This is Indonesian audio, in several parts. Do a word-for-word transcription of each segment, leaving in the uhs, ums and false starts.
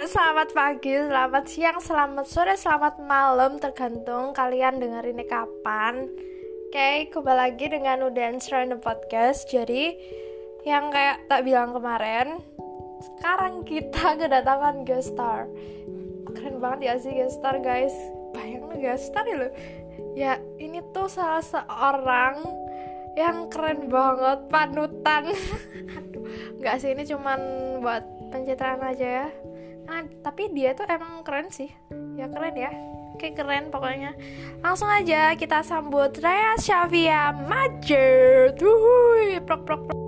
selamat pagi, selamat siang, selamat sore, selamat malam, tergantung kalian denger ini kapan. Oke, kembali lagi dengan Udens Random Podcast. Jadi, yang kayak tak bilang kemarin, sekarang kita kedatangan guest star. Keren banget ya sih guest star, guys. Bayangin guest star ya loh. Ya, ini tuh salah seorang yang keren banget, panutan. Aduh, nggak sih, ini cuman buat pencitraan aja ya. Nah, tapi dia tuh emang keren sih. Ya keren ya. Kayak keren pokoknya. Langsung aja kita sambut Raya Shafia Majer. Wuhui, prok prok prok.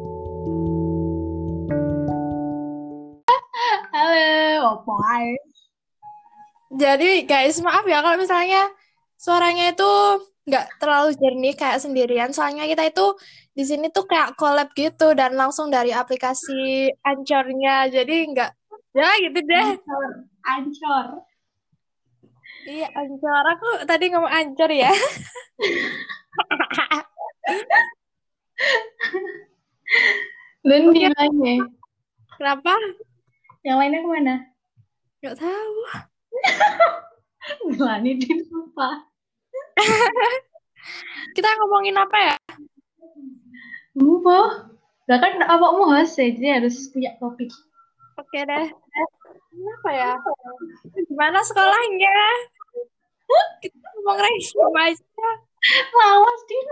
Halo, opoy. Jadi guys, maaf ya kalau misalnya suaranya itu nggak terlalu jernih kayak sendirian. Soalnya kita itu di sini tuh kayak collab gitu dan langsung dari aplikasi Anchor-nya. Jadi nggak, ya gitu deh. Ancor, ancor. Iya, Anchor. Aku tadi ngomong Anchor ya. Dan Oke, yang lainnya, kenapa? yang lainnya kemana? Nggak tahu. Melani di lupa. Kita ngomongin apa ya? Lupa. Lah kan awakmu host ya, jadi harus punya topik. Oke deh. Apa ya? Gimana sekolahnya? Kita ngomong resume aja. Lawas, Din.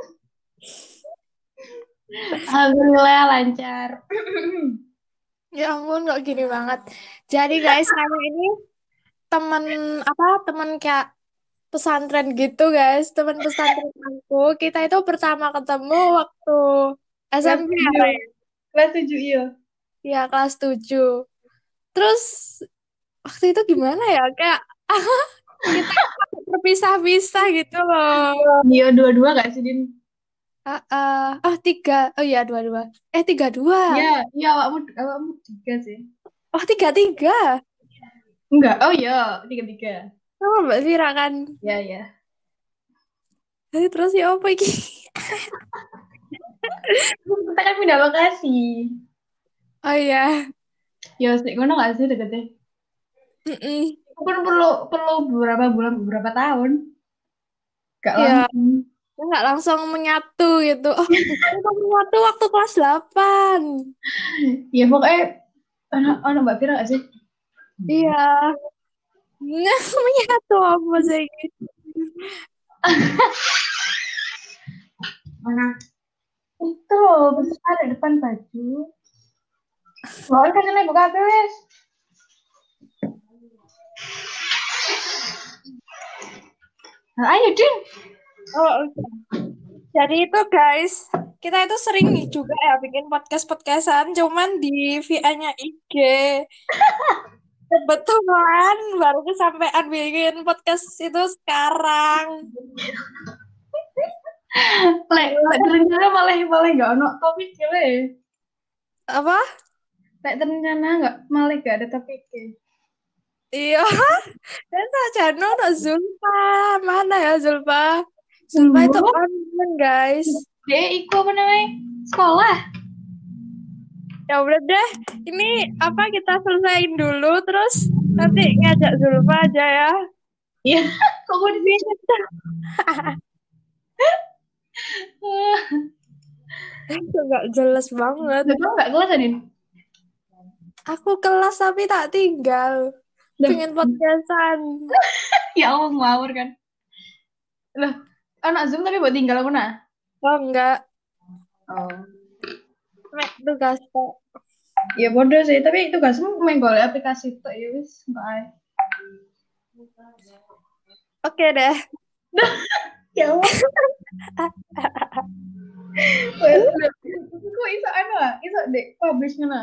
Alhamdulillah lancar. Ya ampun, kok gini banget. Jadi guys, saya ini teman apa? Teman kayak pesantren gitu guys. Teman pesantren aku. Kita itu pertama ketemu waktu Kelas S M P ya, tujuh. Ray? Kelas tujuh, iya. Ya, kelas tujuh. Terus waktu itu gimana ya? Kayak kita terpisah-pisah gitu loh. Iya, dua-dua gak sih, Din? Ah, ah, ah, tiga. Oh iya, dua-dua. Eh, tiga-dua. Iya, iya, awakmu, awakmu tiga sih. Oh, tiga-tiga. Enggak, oh iya, tiga-tiga. Sama Mbak Vira kan. Iya, iya. Jadi terus ya apa iki? Kita kan pindah lokasi. Oh iya. Ya, sih, ngono gak sih deket-deket? Mm-mm. Itu kan perlu perlu beberapa bulan, beberapa tahun. Gak Ya, langsung. nggak langsung menyatu gitu. Oh, kita menyatu waktu kelas delapan. Ya pokoknya anak anak Mbak Fira gak sih? Iya. Nggak menyatu apa sih? Mana? Itu loh, besar di depan baju. Loh, kan kena buka tulis. Nah, ayo, Din. Oh, oke. Jadi itu guys, kita itu sering juga ya bikin podcast-podcastan, cuman di V I-nya I G. Kebetulan baru kesampaian bikin podcast itu sekarang. Lek, lek terencana malah malah gak ono topik le. Apa? Lek terencana gak malah gak ada topik. Iya. Dan saja no Zulfa. Mana ya Zulfa? Zulfa itu Dulu, online guys. deh, iku apa namanya? Sekolah. Ya udah deh. Ini apa kita selesaiin dulu terus nanti ngajak Zulfa aja ya. Iya, kok gue di sini? Itu gak jelas banget. Betul nggak kelas, Adin? Aku kelas tapi tak tinggal. Loh, Pengen podcastan. ya Allah ngawur kan. Loh, anak Zoom tapi buat tinggal aku nah. Oh enggak. Oh. Mek tugas kok. Ya bodoh sih, tapi tugasmu main golek aplikasi itu ya wis, bye. Oke deh. Ya Allah. Wes, kok iso anu ah? Iso dek publish ngono.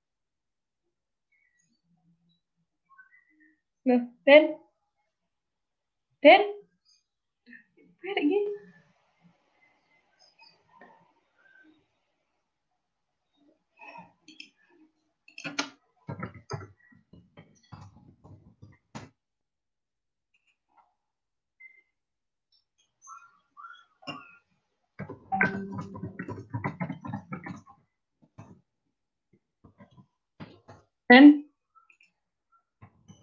Loh, Den. Den. Kayak gini. Den.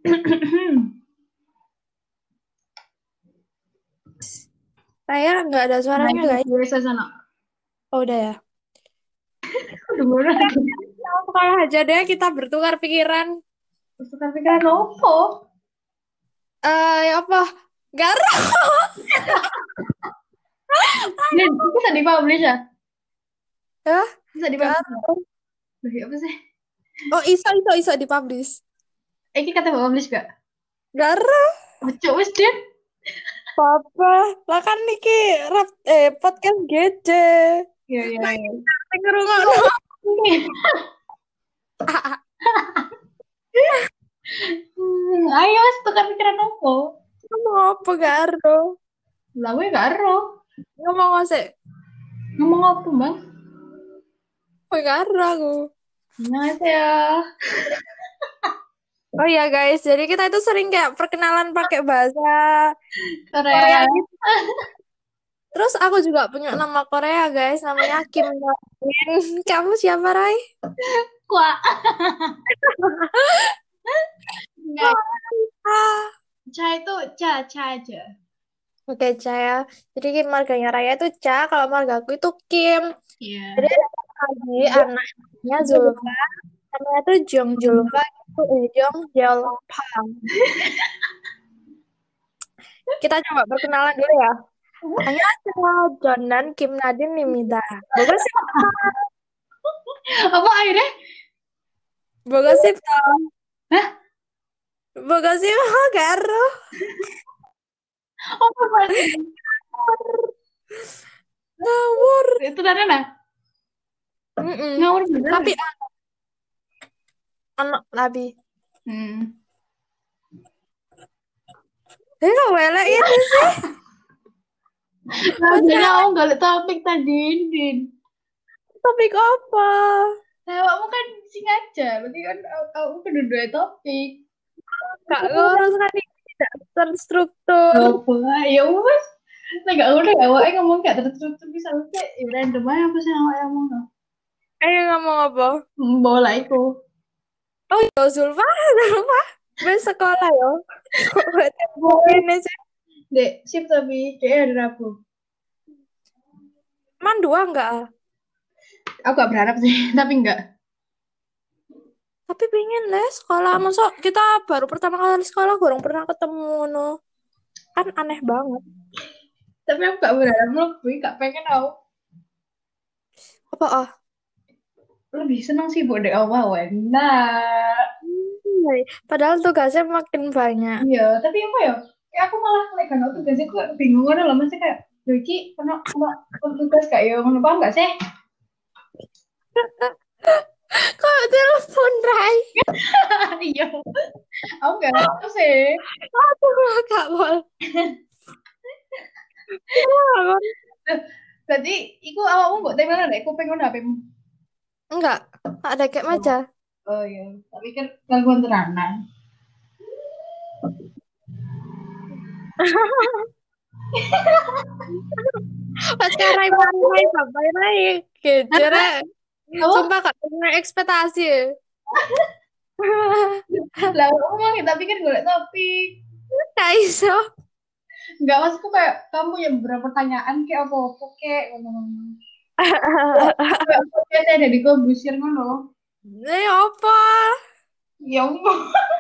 Saya nggak ada Nah, suaranya itu guys. biasa sana. Oh udah ya. Udah mulai. Kalau aja deh kita bertukar pikiran. Bertukar pikiran opo? Eh ya apa? Garo. Din, itu bisa dipublish ya? Ya, Bisa dipublish ya? garo. Loh, ya apa sih? Oh iso iso iso dipublish. Eh, ini kata publish gak? Garo. Ojo wis, Din. Papa, lah kan niki rap eh podcast gede. Iya, iya, Nah, iya. kita ngerungokno. Hmm, ayo wis tukar pikiran opo? Ngomong apa garo? Lah gue gak ero. Ngomong apa sih? Ngomong apa, Bang? Gue garo aku. Annyeonghaseyo. Oh iya guys, jadi kita itu sering kayak perkenalan pakai bahasa Korea Korea. gitu. Terus aku juga punya nama Korea guys, namanya Kim Nadine. Kamu siapa, Rai? Kuah. Enggak. Ah. Cha itu cha, cha aja. Oke, Cha ya. Jadi Kim marganya Raya itu Cha, kalau marga aku itu Kim. Iya. Jadi ada lagi anaknya Zulfa, namanya tuh Jong Julfa itu eh Jong Julfa. Kita coba perkenalan dulu ya. Annyeonghaseyo, Jonan Kim Nadine Nimida. Bagus sih, Apa akhirnya? bagus sih, Hah? bagus sih, mah garo. Apa berarti? Ngawur. Itu dari mana? Mm-mm. Ngawur bener. Tapi anak labi. Hmm. Eh kok welek ini sih? Maksudnya aku gak topik tadi, Din. Topik apa? Nah, kamu kan sing aja, berarti kan kamu kedua topik. Gak ngurus kan ini tidak terstruktur. Apa? Ya wes. Nah, gak udah ya, awake ngomong gak terstruktur bisa kayak ya random aja apa sih yang awake ngomong. Ayo ngomong apa? Hmm, bola iku. Oh ya Zulfa, Zulfa. Bes sekolah ya. Kok buat ini sih? Dek, sip tapi kayak hari Rabu. Man dua enggak? Aku gak berharap sih, tapi enggak. Tapi pengen lah sekolah. Masa kita baru pertama kali sekolah, kurang pernah ketemu no. Kan aneh banget. Tapi aku gak berharap lebih, gak pengen aku. Apa ah? Lebih senang sih buat dek awal. Nah, Hmm, padahal tugasnya makin banyak. iya, tapi apa ya? Kayak aku malah lagi kan tugasnya kok bingung kan loh, masih kayak Yuki, pernah pernah tugas kayak ya, ngono paham gak sih? Kok telepon Rai? Iya, aku gak tahu sih. Aku gak boleh. Berarti, iku awakmu buat temelan dek, kuping ngono H P-mu. Enggak, ada kayak aja. Oh iya, tapi kan gangguan tenanan. Pas Rai Rai sampai Rai kejar. Sumpah gak punya ekspektasi. Lah, aku mau kita pikir golek topik. Gak iso. Enggak, maksudku kayak kamu yang beberapa pertanyaan kayak apa-apa kayak ngomong-ngomong. Kayak ada di busir ngono. Ini apa? Ya Allah.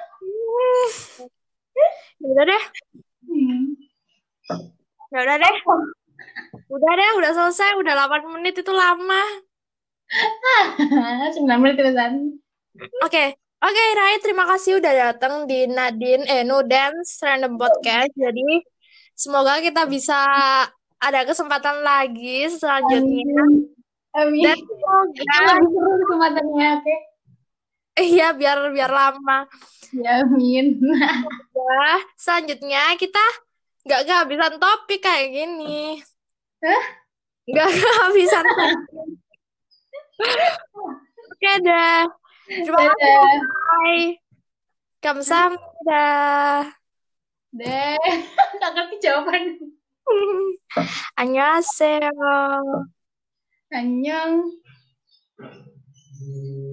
Ya udah deh. Hmm. Ya udah deh. Udah deh, udah selesai. Udah delapan menit itu lama. sembilan menit terusan. Oke. Oke, Rai, terima kasih udah datang di Nadine eh Nudance Random Podcast. Jadi semoga kita bisa ada kesempatan lagi selanjutnya. Amin. Dan semoga lebih seru kesempatannya, oke? iya biar biar lama. Ya, amin. Ya, selanjutnya kita nggak kehabisan topik kayak gini. Hah? Nggak kehabisan topik. Oke deh. Terima kasih. Bye. Kamsahamnida. Deh, nggak ngerti jawaban. Annyeonghaseyo. Annyeong.